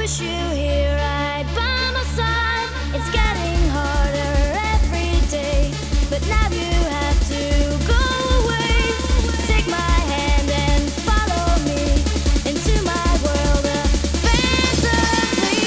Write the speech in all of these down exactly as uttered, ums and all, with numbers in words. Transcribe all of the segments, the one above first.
wish you here right by my side. It's getting harder every day, but now you have to go away. Take my hand and follow me into my world of fantasy.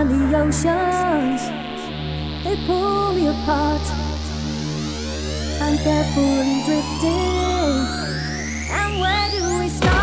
and the oceans, they pull me apart. I'm carefully drifting, and where do we start?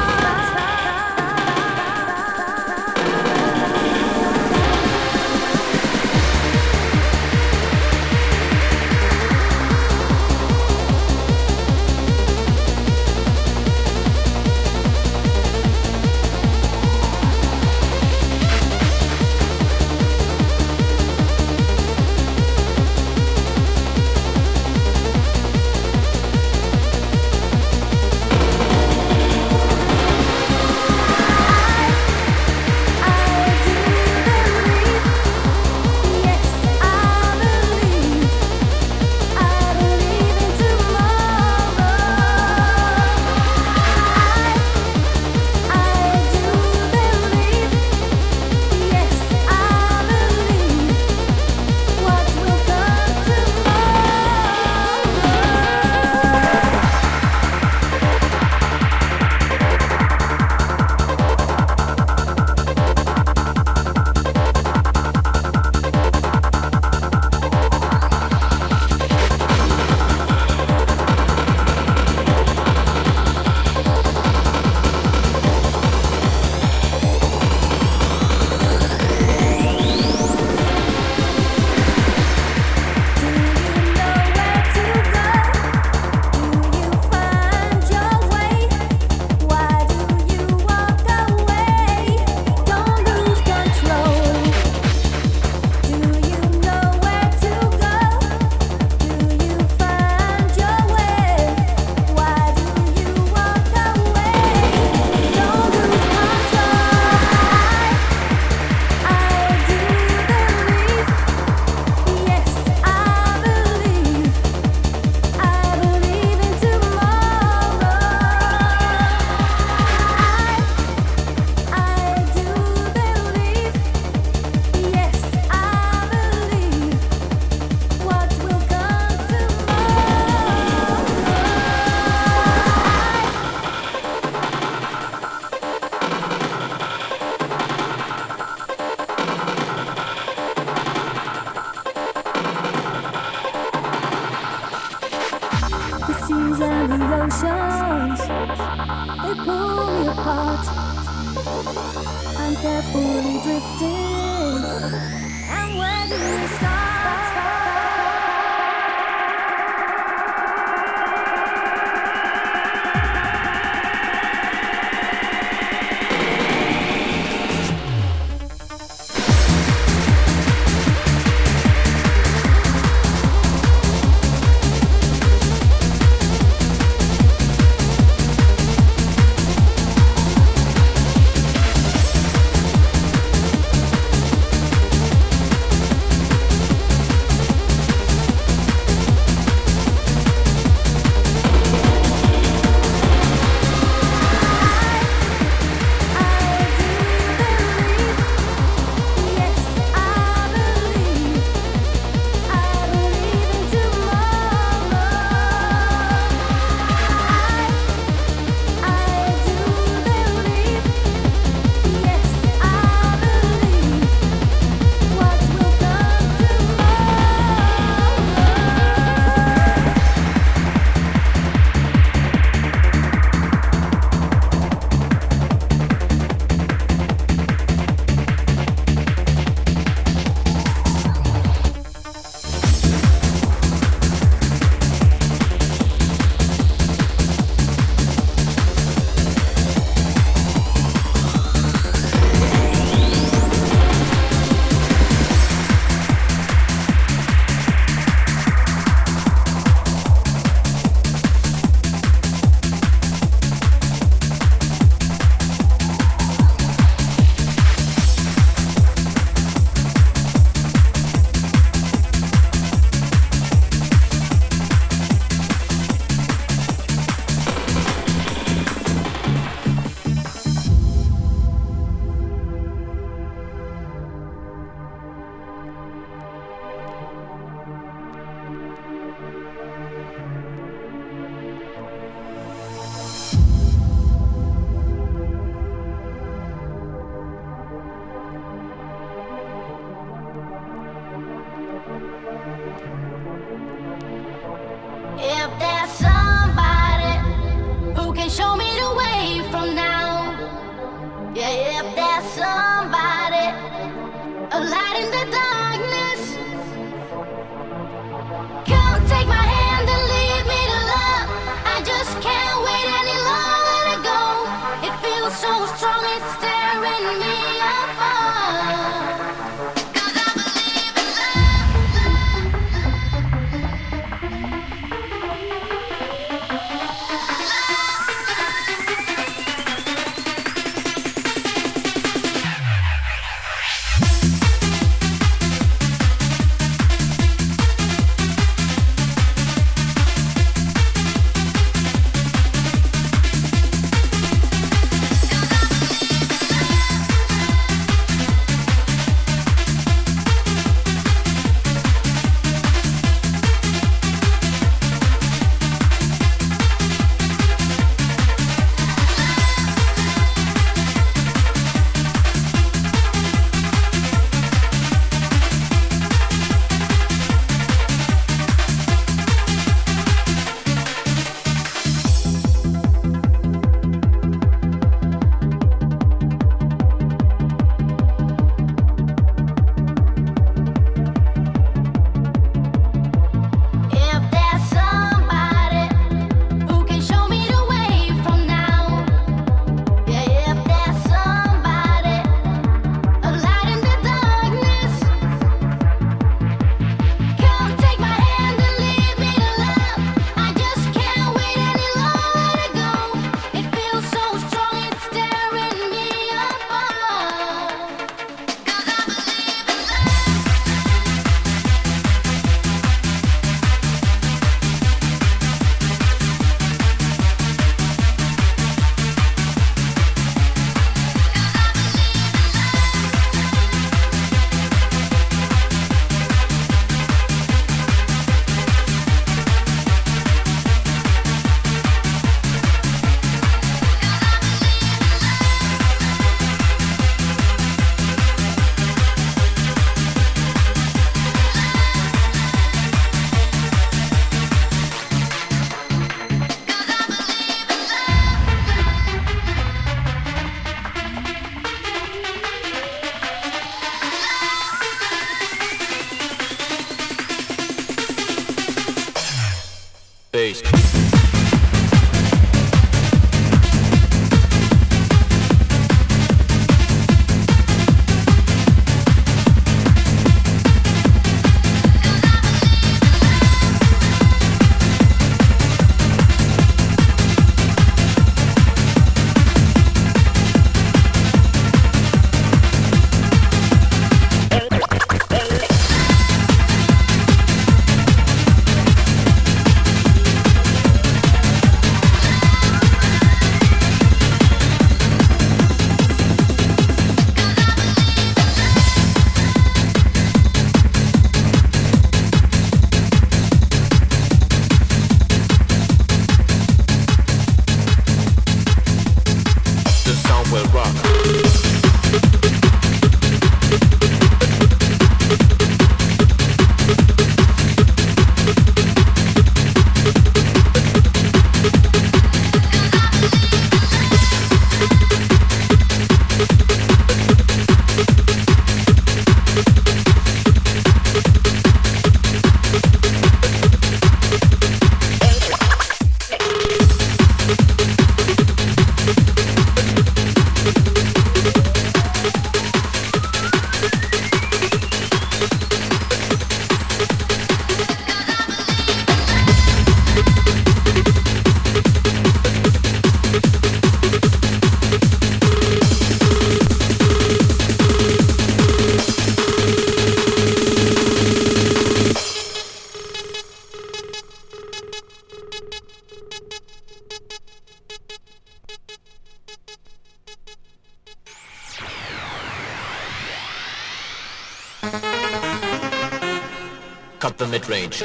cut the mid-range.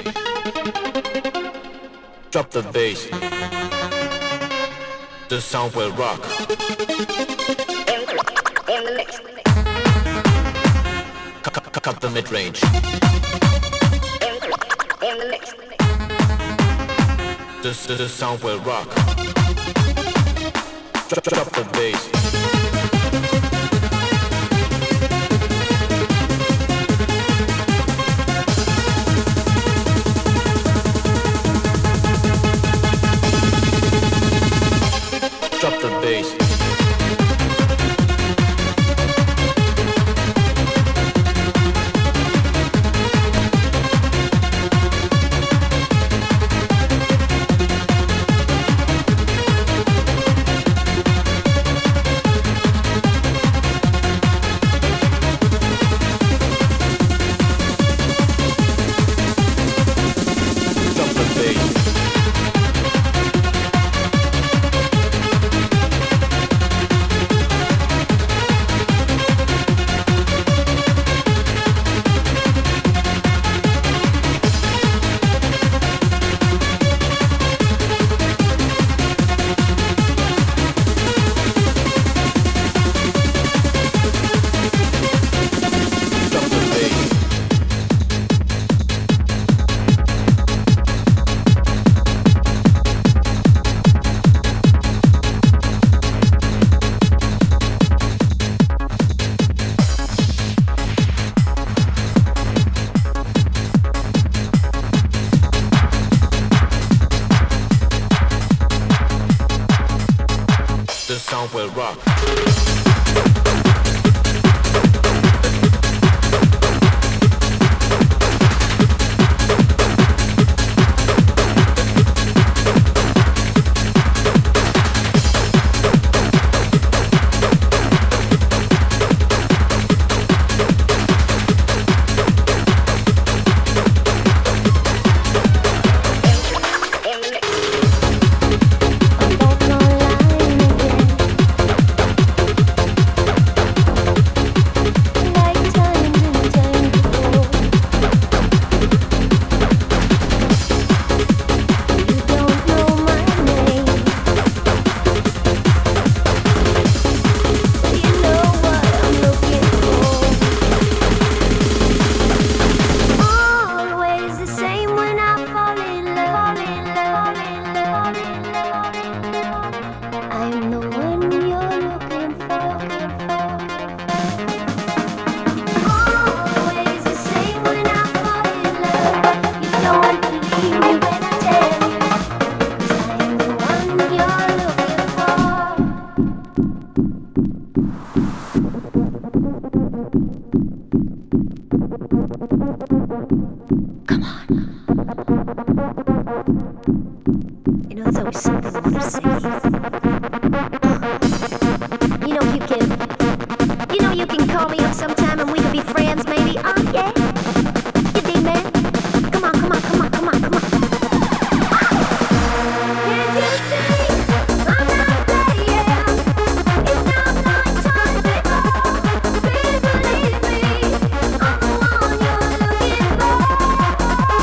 Drop the bass. The sound will rock. In the, in the mix. Cut, cut, cut the mid-range. In the, in the mix. The, the, the sound will rock. Drop, drop the bass. Drop the bass. Will rock.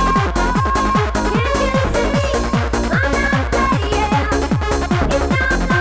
It's not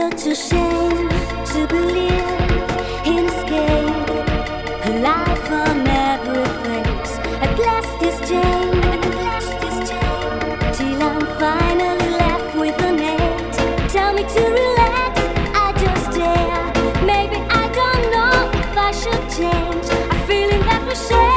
such a shame to believe in escape. A life on every face. At last is Jane, at last is Jane. Till I'm finally left with an eight. Tell me to relax, I just dare. Maybe I don't know if I should change. A feeling that we share.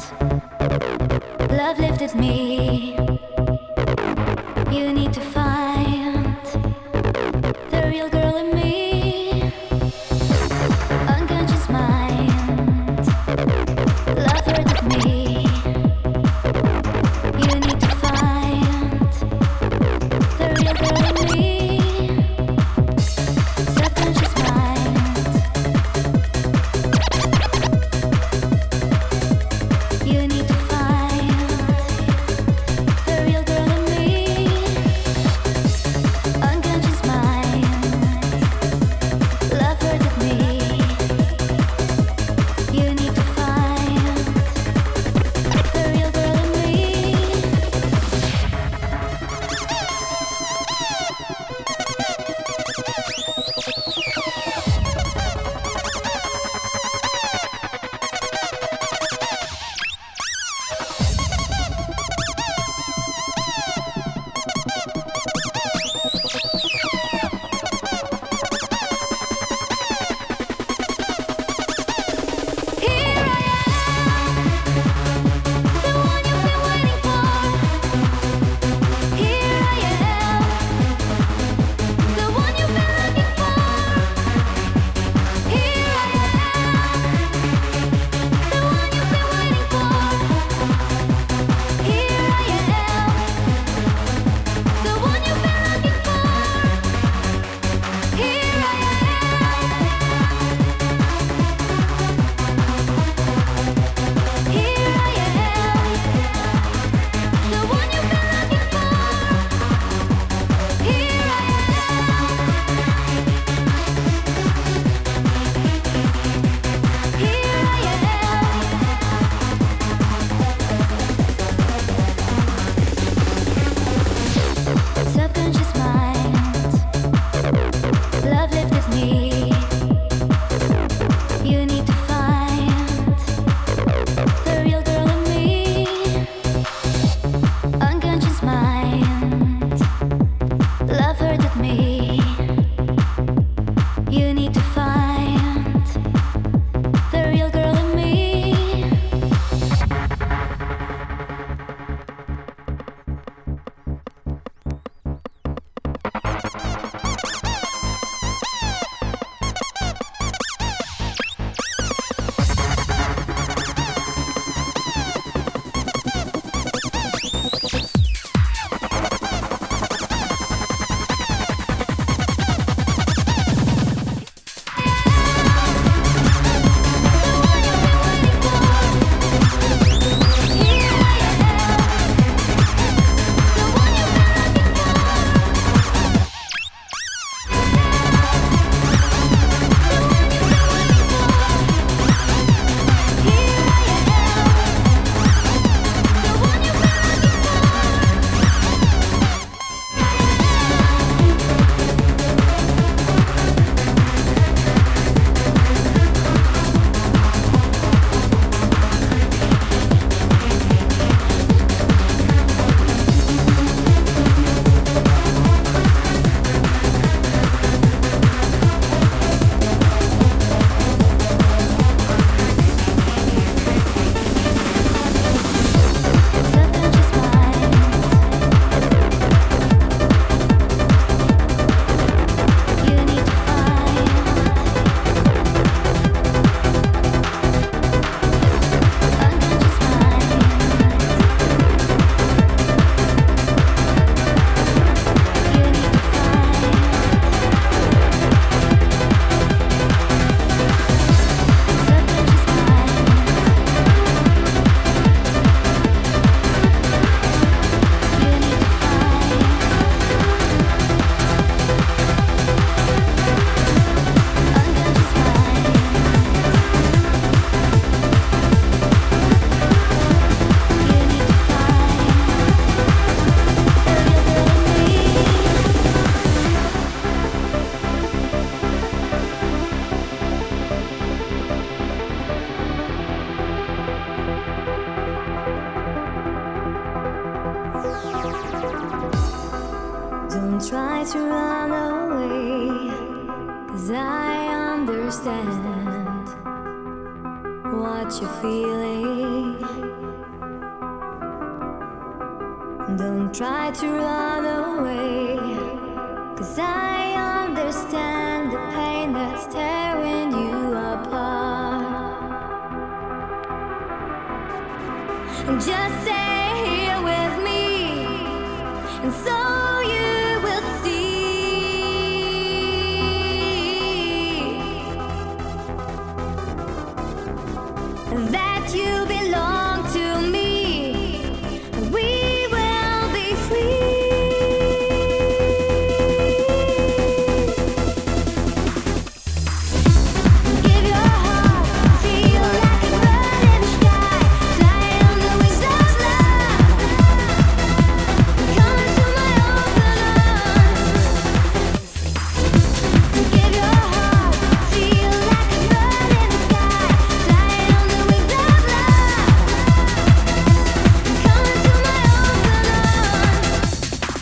Love lifted me. You need to find the real girl in me. Unconscious mind. Love hurted me. You need to find the real girl in me. Subconscious mind. You need to find the real girl in me. Unconscious mind. Love hurted me. You need to find the real girl in me. Here I am, the one you've been waiting for. Here I am, the one you've been looking for. Here I am, the one you've been waiting for. Here I am, the one you've been looking for. Here I Here I am, the one you've been looking for. Here I am. Here I am. Subconscious mind. Love lifted me. You need to find the real girl in me. Unconscious mind. Love hurted me. You need to find the real girl in me. Subconscious mind. You need to find unconscious mind. You need to find subconscious mind. You need to find unconscious mind. You need to find the real girl in me. Don't try to run away, 'cause I understand what you're feeling. Don't try to run away, 'cause I understand the pain that's tearing you apart. Just stay here with me, and so you will see that you belong to me. We will be free. Give your heart, feel like a bird in the sky, fly on the wings of love. Come into my open arms. Give your heart, feel like a bird in the sky, fly on the wings of love. Come into my open arms.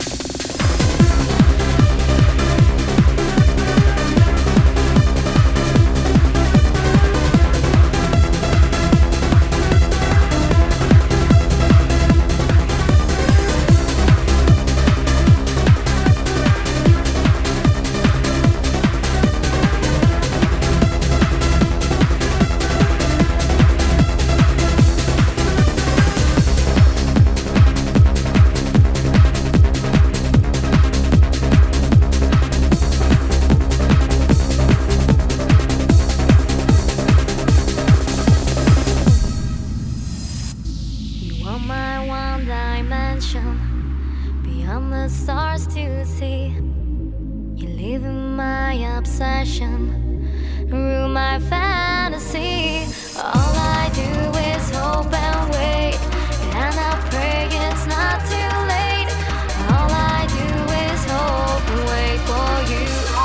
You are my one dimension, beyond the stars to see. You live in my obsession, rule my fantasy. All I do is hope and wait, and I pray it's not too late. All I do is hope and wait for you.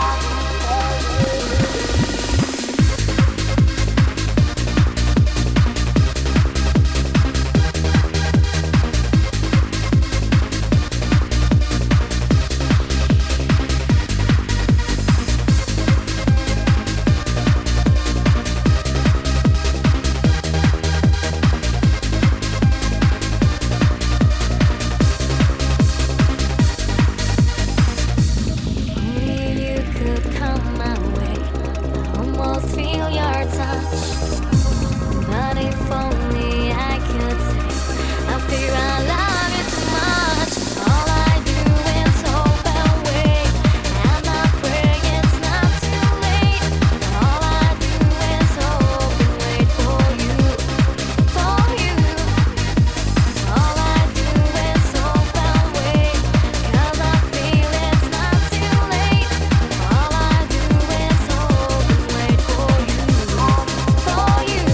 Only you could come my way. I almost feel your touch, but if only I could say, I fear I love you too much. All I do is hope and wait, and I pray it's not too late. All I do is hope and wait for you, for you. All I do is hope and wait, 'cause I feel it's not too late. All I do is hope and wait for you, for you.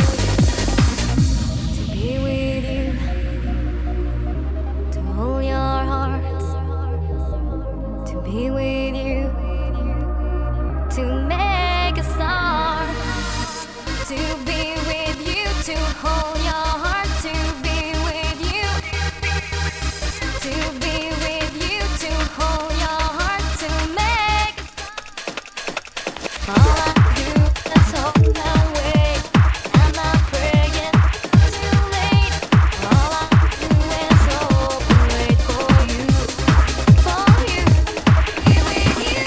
To be with you, to hold your heart, to be with you, to make a start, to be with you, to hold your heart, to be with you, to be with you, to hold your heart, to make a start. All I do is hope and wait, and I pray it's too late. All I do is hope and wait for you, for you, be with you.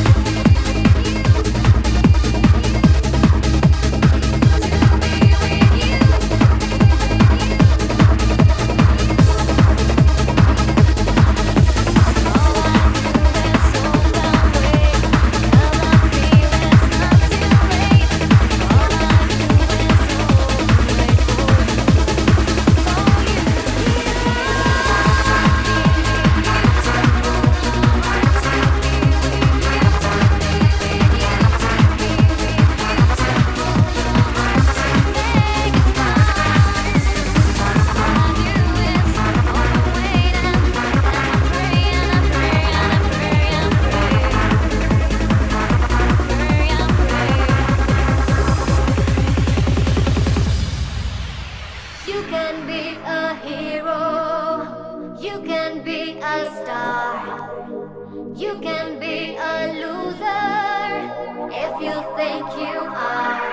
You can be a loser if you think you are.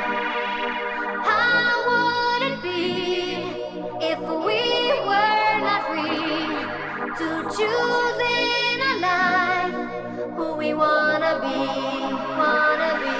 How would it be if we were not free? to choosing a life who we wanna be, wanna be.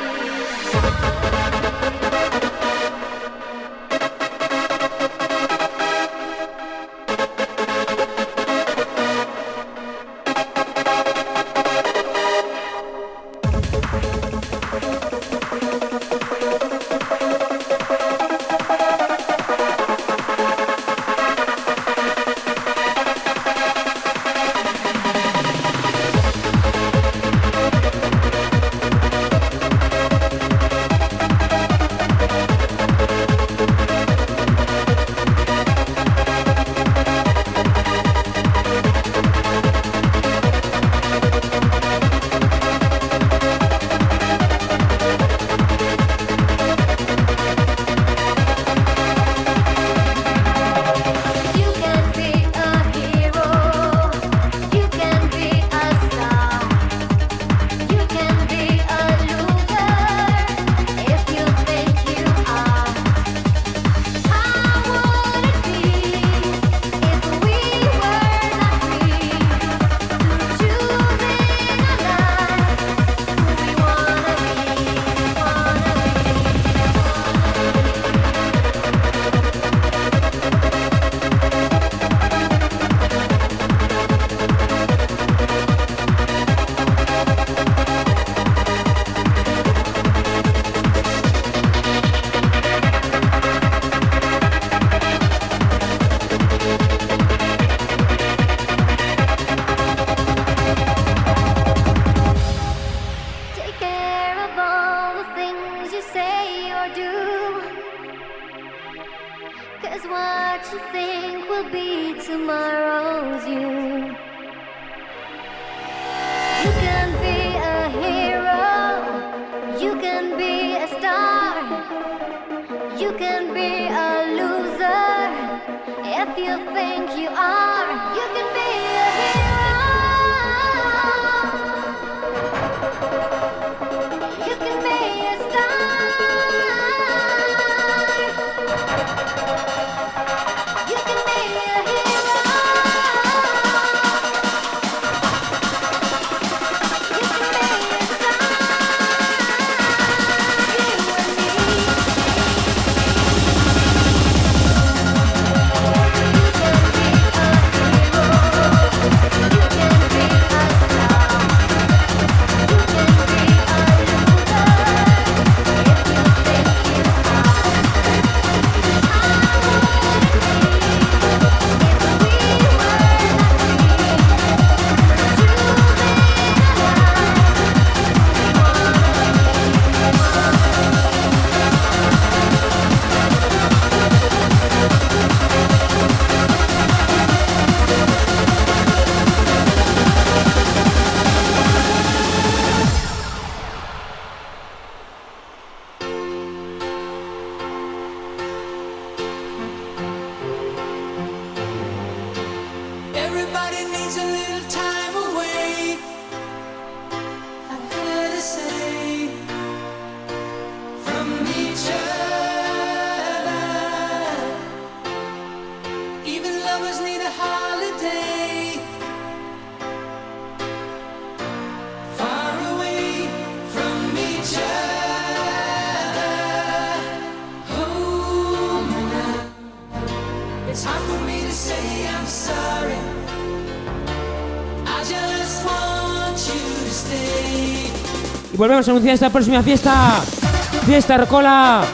Y volvemos a anunciar esta próxima fiesta, Fiesta Rocola,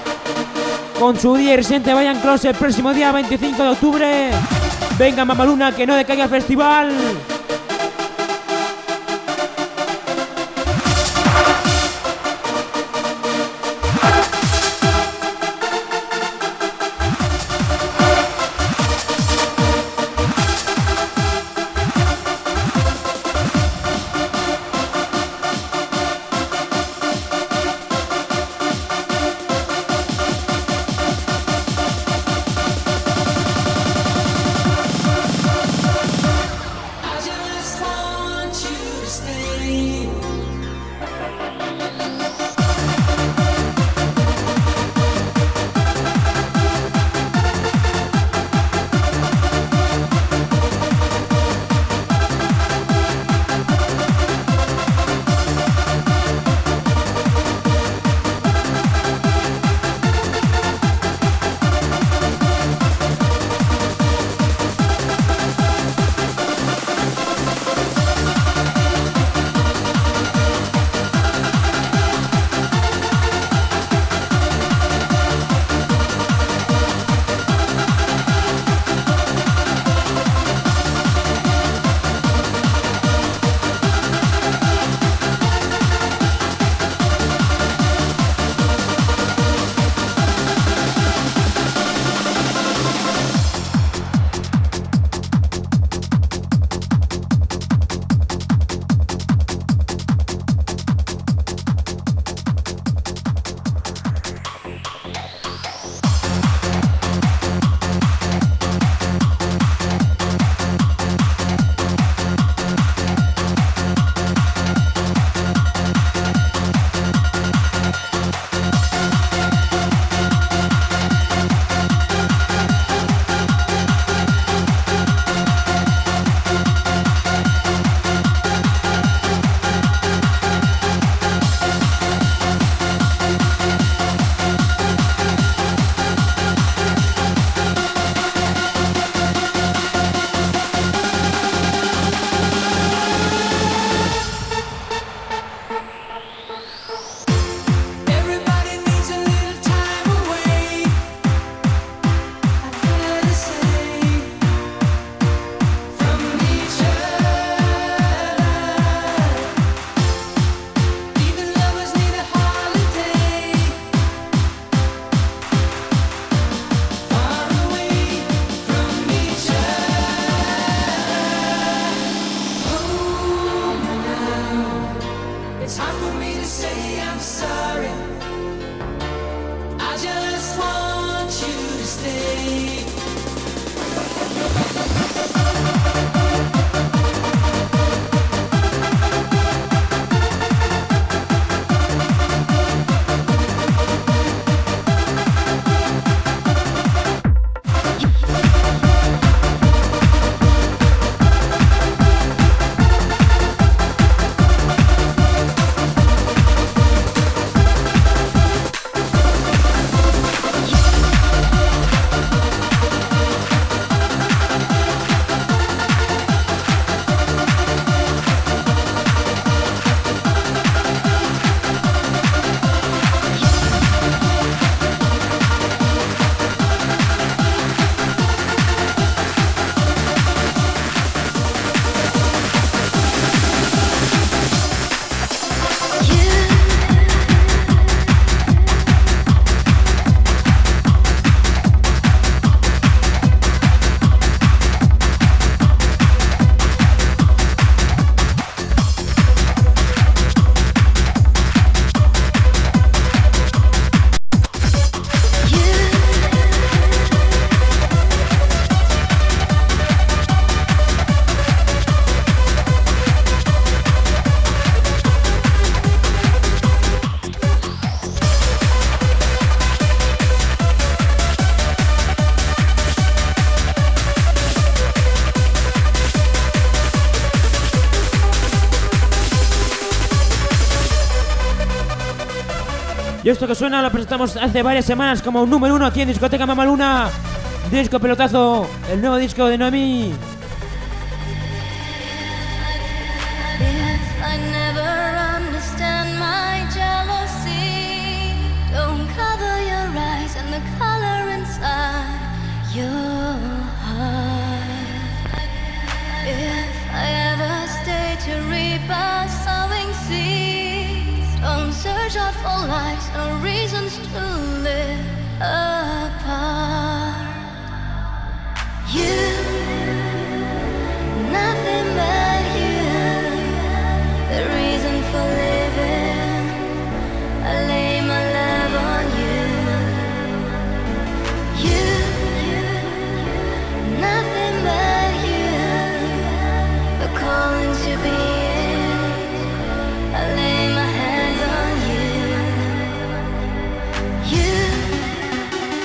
con su día residente Vayan Close el próximo día veinticinco de octubre. Venga Mamaluna, que no decaiga el festival. I just Y esto que suena lo presentamos hace varias semanas como un número uno aquí en Discoteca Mamaluna. Disco Pelotazo, el nuevo disco de Noemí. If I never understand my jealousy, don't cover your eyes and the color inside your heart. If I ever stay to reap a sowing seeds, don't search out for lies or reasons to live apart. You, nothing but you, the reason for living. I lay my love on you. You, nothing but you, the calling to be in. I lay my hands on you. You,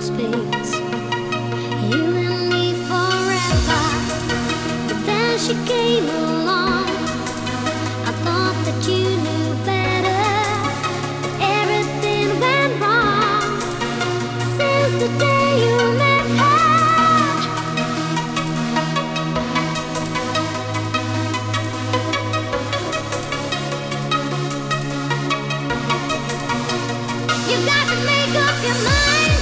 space. You and me forever. But then she came along. I thought that you knew better. Everything went wrong since the day you met her. You got to make up your mind.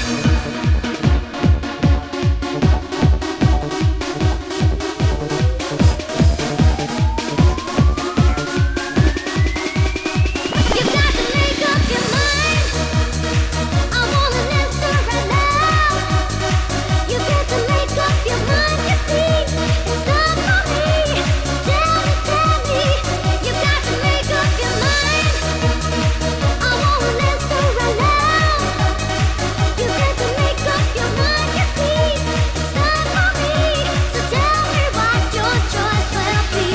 You got to make up your mind. I want an answer right now. You got to make up your mind. You see, it's not for me. Tell me, tell me. You got to make up your mind. I want an answer right now. You got to make up your mind. You see, it's not for me. So tell me what your choice will be.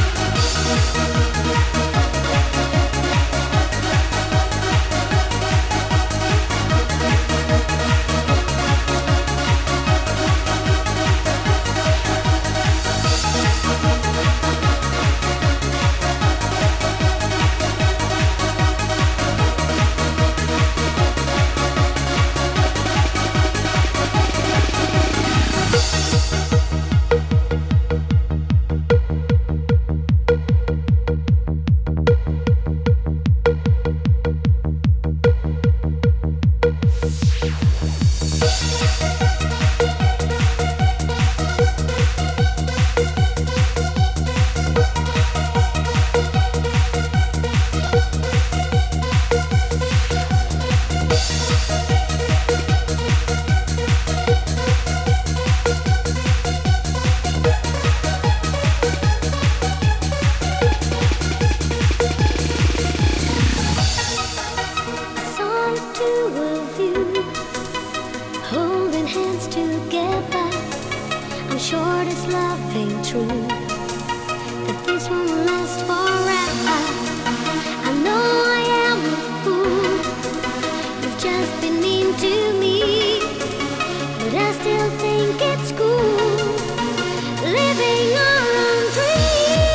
I saw the two of you holding hands together. I'm sure this love ain't true, that this won't last forever. I know I am a fool. You've just been mean to me, but I still think it's cool living our own dream.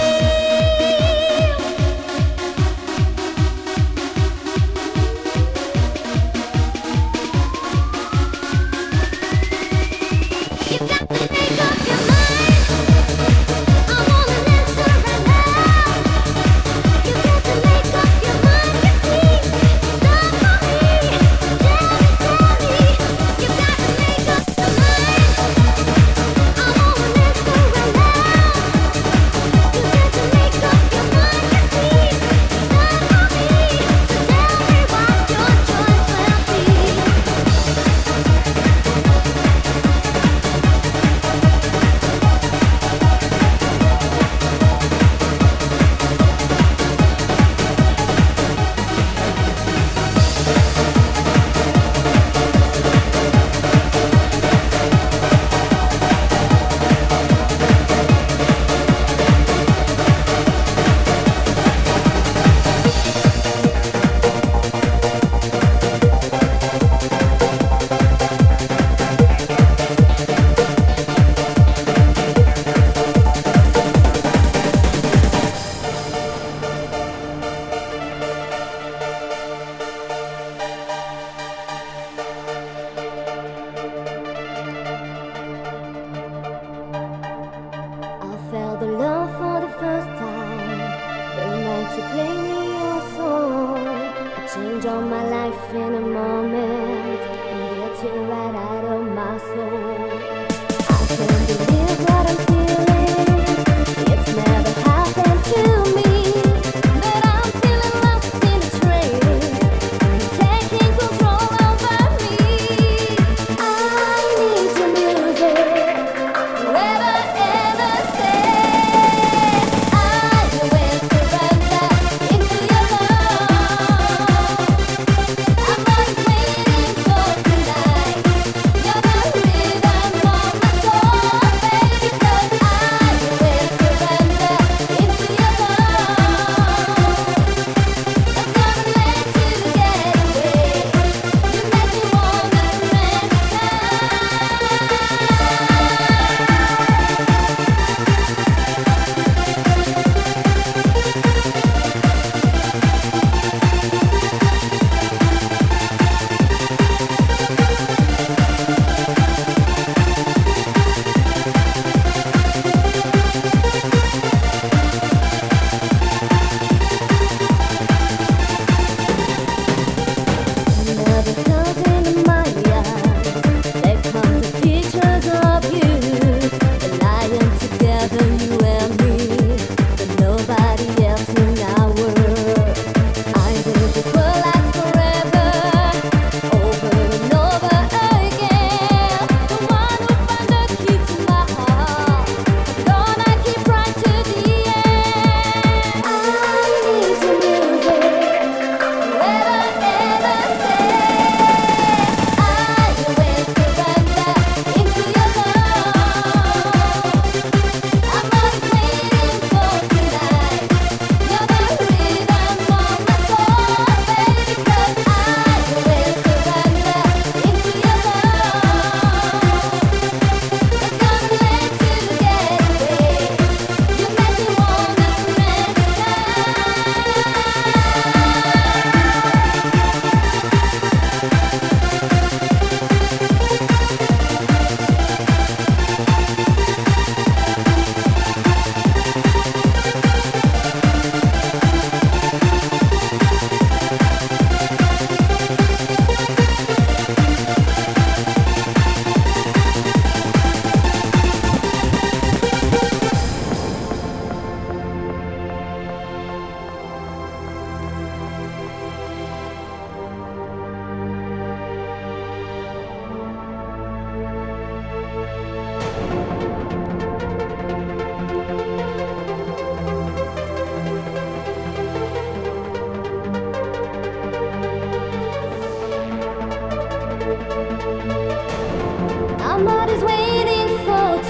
You got to make up your mind. I want an answer right now. You got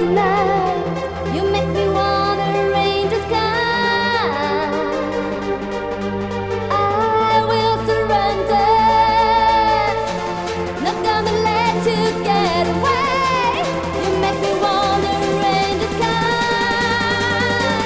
tonight. You make me wanna rain the sky. I will surrender. Not gonna let you get away. You make me wanna rain the sky.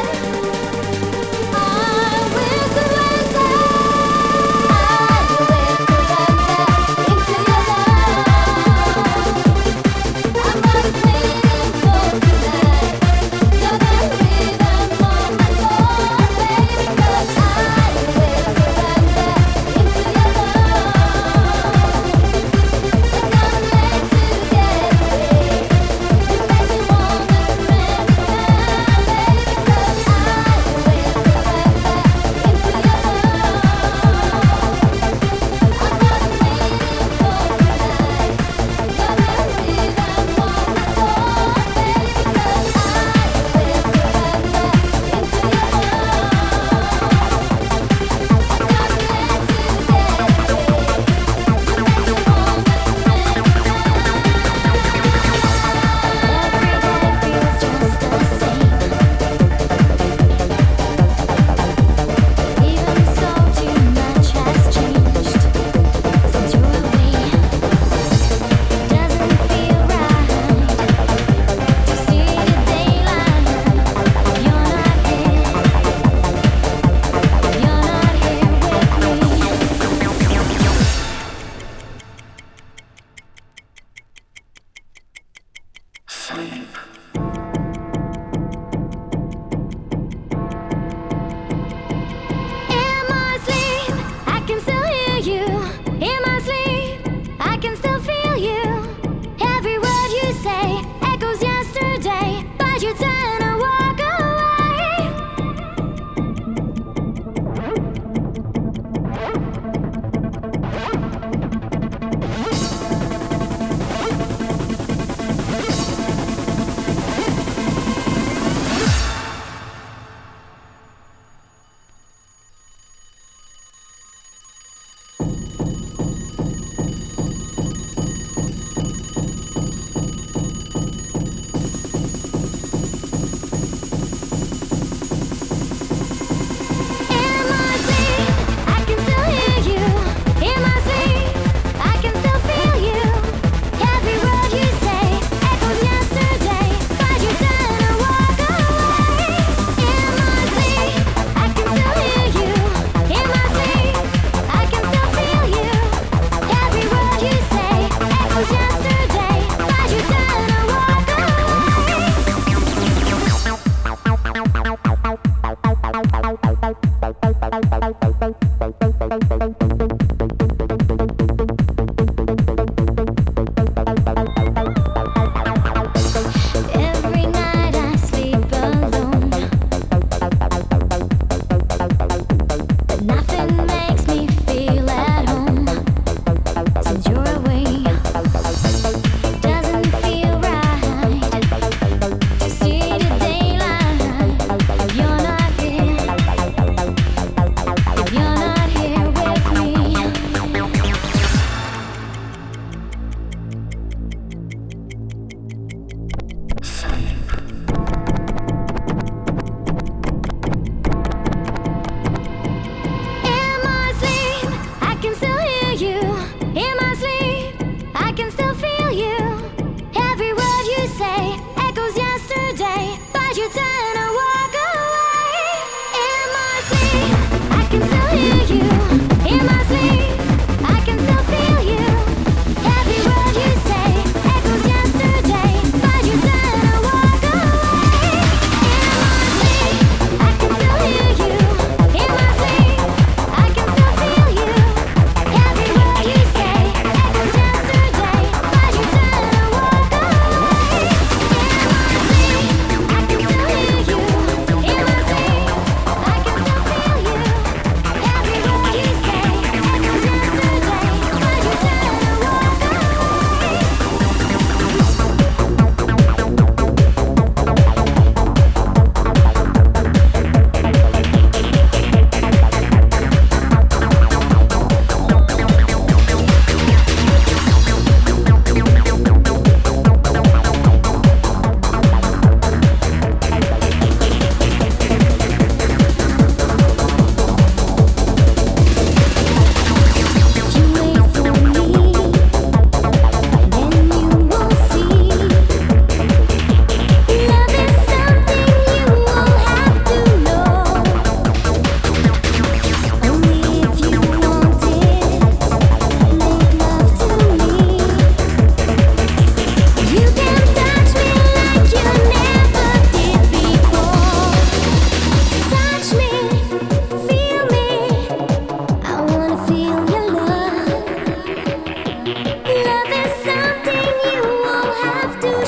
I will surrender. I will surrender into your love. I'm always waiting for tonight. You're the rhythm of my soul, baby. 'Cause I will surrender into your love. Not gonna let you get away. You make me wanna rain the sky, baby. 'Cause I will surrender into your love. I'm always waiting for tonight. You're the rhythm of my soul, baby. 'Cause I will surrender into your love. Not gonna let you get away. You make me wanna rain the sky. Every day feels just the same. Even so, too much has changed since you're away. Doesn't feel right to see the daylight. You're not here. You're not here with me. In my sleep, I can still hear you. In my sleep, I can still feel you. Every word you say echoes yesterday, but you turn and walk away.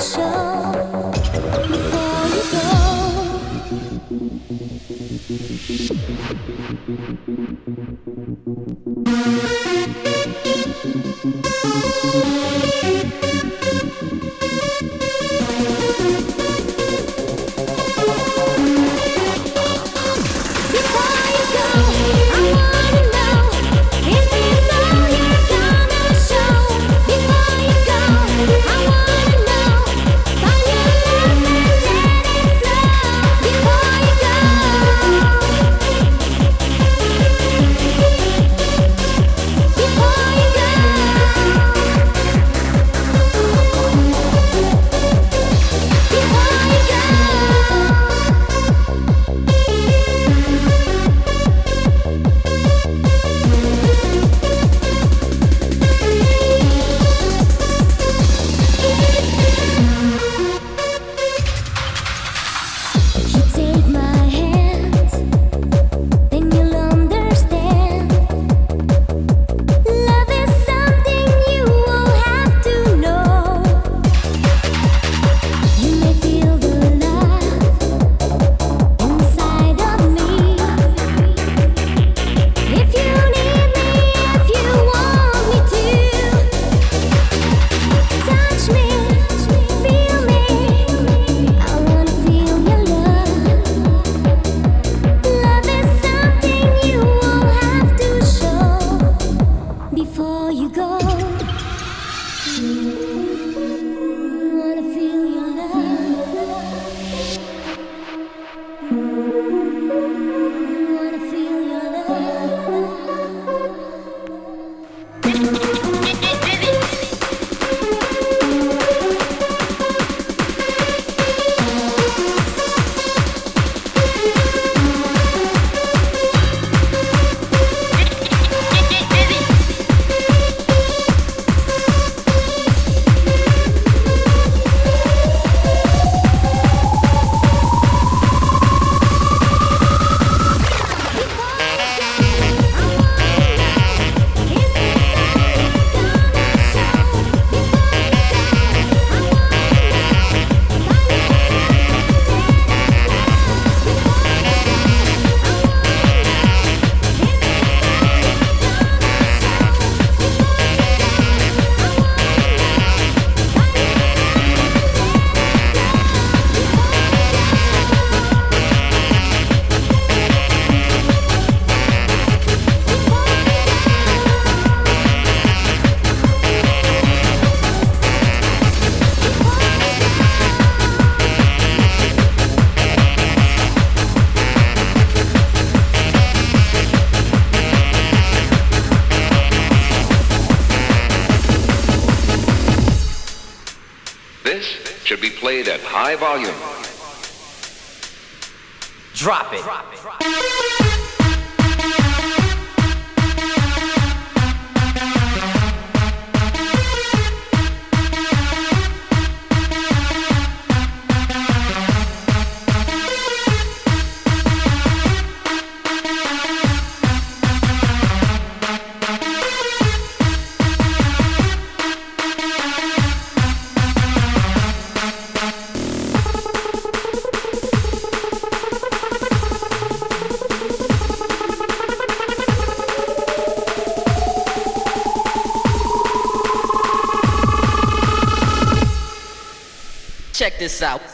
show before you go. Should be played at high volume. Drop it. Drop it. Drop it. Check this out.